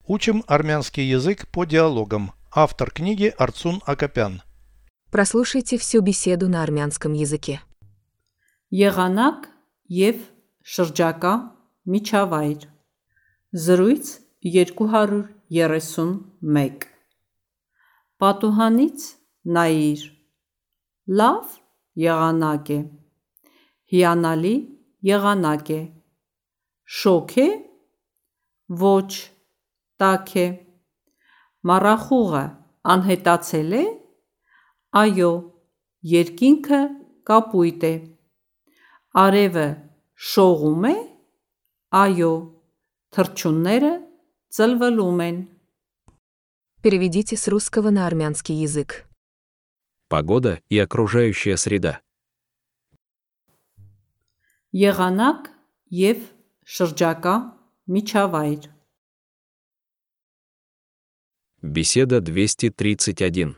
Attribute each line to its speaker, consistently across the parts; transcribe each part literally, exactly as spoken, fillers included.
Speaker 1: Учим армянский язык по диалогам. Автор книги Арцун Акопян.
Speaker 2: Прослушайте всю беседу на армянском языке.
Speaker 3: Եղանակ և շրջակա միջավայր Զրույց երկու հարյուր երեսունմեկ Պատուհանից նայիր Լավ եղանակ է Հիանալի եղանակ է Շոգ է Ոչ տաք է Մառախուղը անհետացել է Այո Երկինքը կապույտ է Արևը շողում է Այո Թռչունները ծլվլում են
Speaker 2: Переведите с русского на армянский язык.
Speaker 4: Погода и окружающая среда.
Speaker 3: Եղանակ և շրջակա միջավայր
Speaker 4: Беседа двести тридцать один.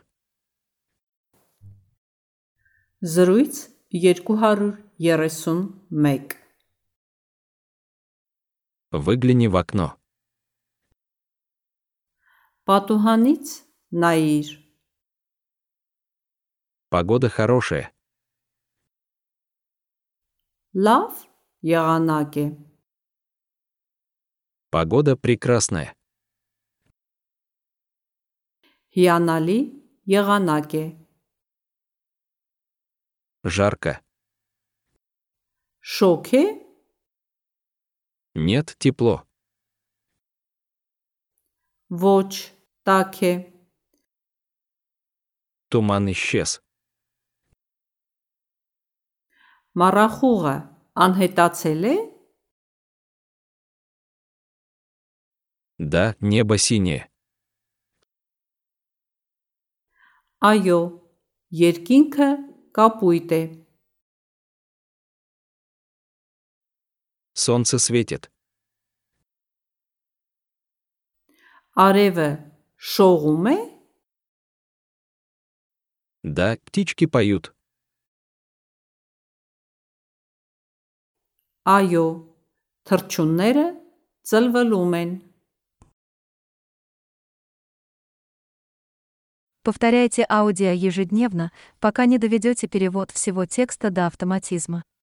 Speaker 3: Զրույց երկու հարյուր երեսունմեկ
Speaker 4: Выгляни в окно.
Speaker 3: Պատուհանից նայիր
Speaker 4: Погода хорошая.
Speaker 3: Լավ եղանակ է
Speaker 4: Погода прекрасная.
Speaker 3: Հիանալի եղանակ է
Speaker 4: Жарко.
Speaker 3: Շոգ է
Speaker 4: Нет, тепло.
Speaker 3: Ոչ տաք է
Speaker 4: Туман исчез.
Speaker 3: Մառախուղը անհետացել է
Speaker 4: Да, небо синее.
Speaker 3: Այո Երկինքը կապույտ է
Speaker 4: Солнце светит.
Speaker 3: Արևը շողում է
Speaker 4: Да, птички поют.
Speaker 3: Այո Թռչունները ծլվլում են
Speaker 5: Повторяйте аудио ежедневно, пока не доведете перевод всего текста до автоматизма.